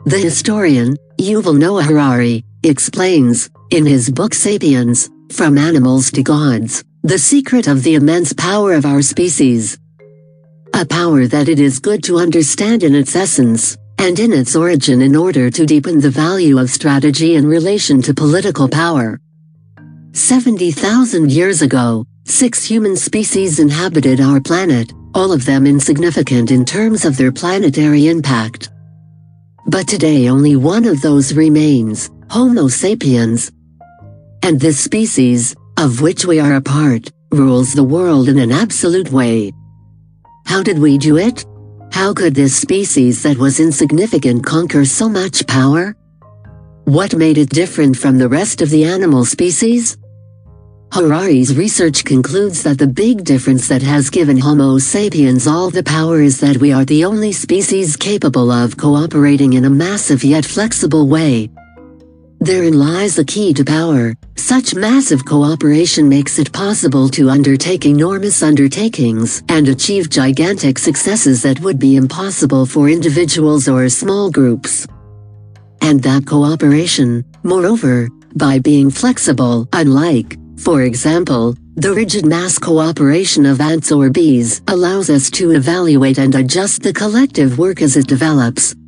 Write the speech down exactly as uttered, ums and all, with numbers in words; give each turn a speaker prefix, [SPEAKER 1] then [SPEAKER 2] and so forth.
[SPEAKER 1] The historian, Yuval Noah Harari, explains, in his book Sapiens, From Animals to Gods, the secret of the immense power of our species. A power that it is good to understand in its essence, and in its origin in order to deepen the value of strategy in relation to political power. seventy thousand years ago, six human species inhabited our planet, all of them insignificant in terms of their planetary impact. But today only one of those remains, Homo sapiens. And this species, of which we are a part, rules the world in an absolute way. How did we do it? How could this species that was insignificant conquer so much power? What made it different from the rest of the animal species? Harari's research concludes that the big difference that has given Homo sapiens all the power is that we are the only species capable of cooperating in a massive yet flexible way. Therein lies the key to power. Such massive cooperation makes it possible to undertake enormous undertakings and achieve gigantic successes that would be impossible for individuals or small groups. And that cooperation, moreover, by being flexible, unlike, for example, the rigid mass cooperation of ants or bees, allows us to evaluate and adjust the collective work as it develops.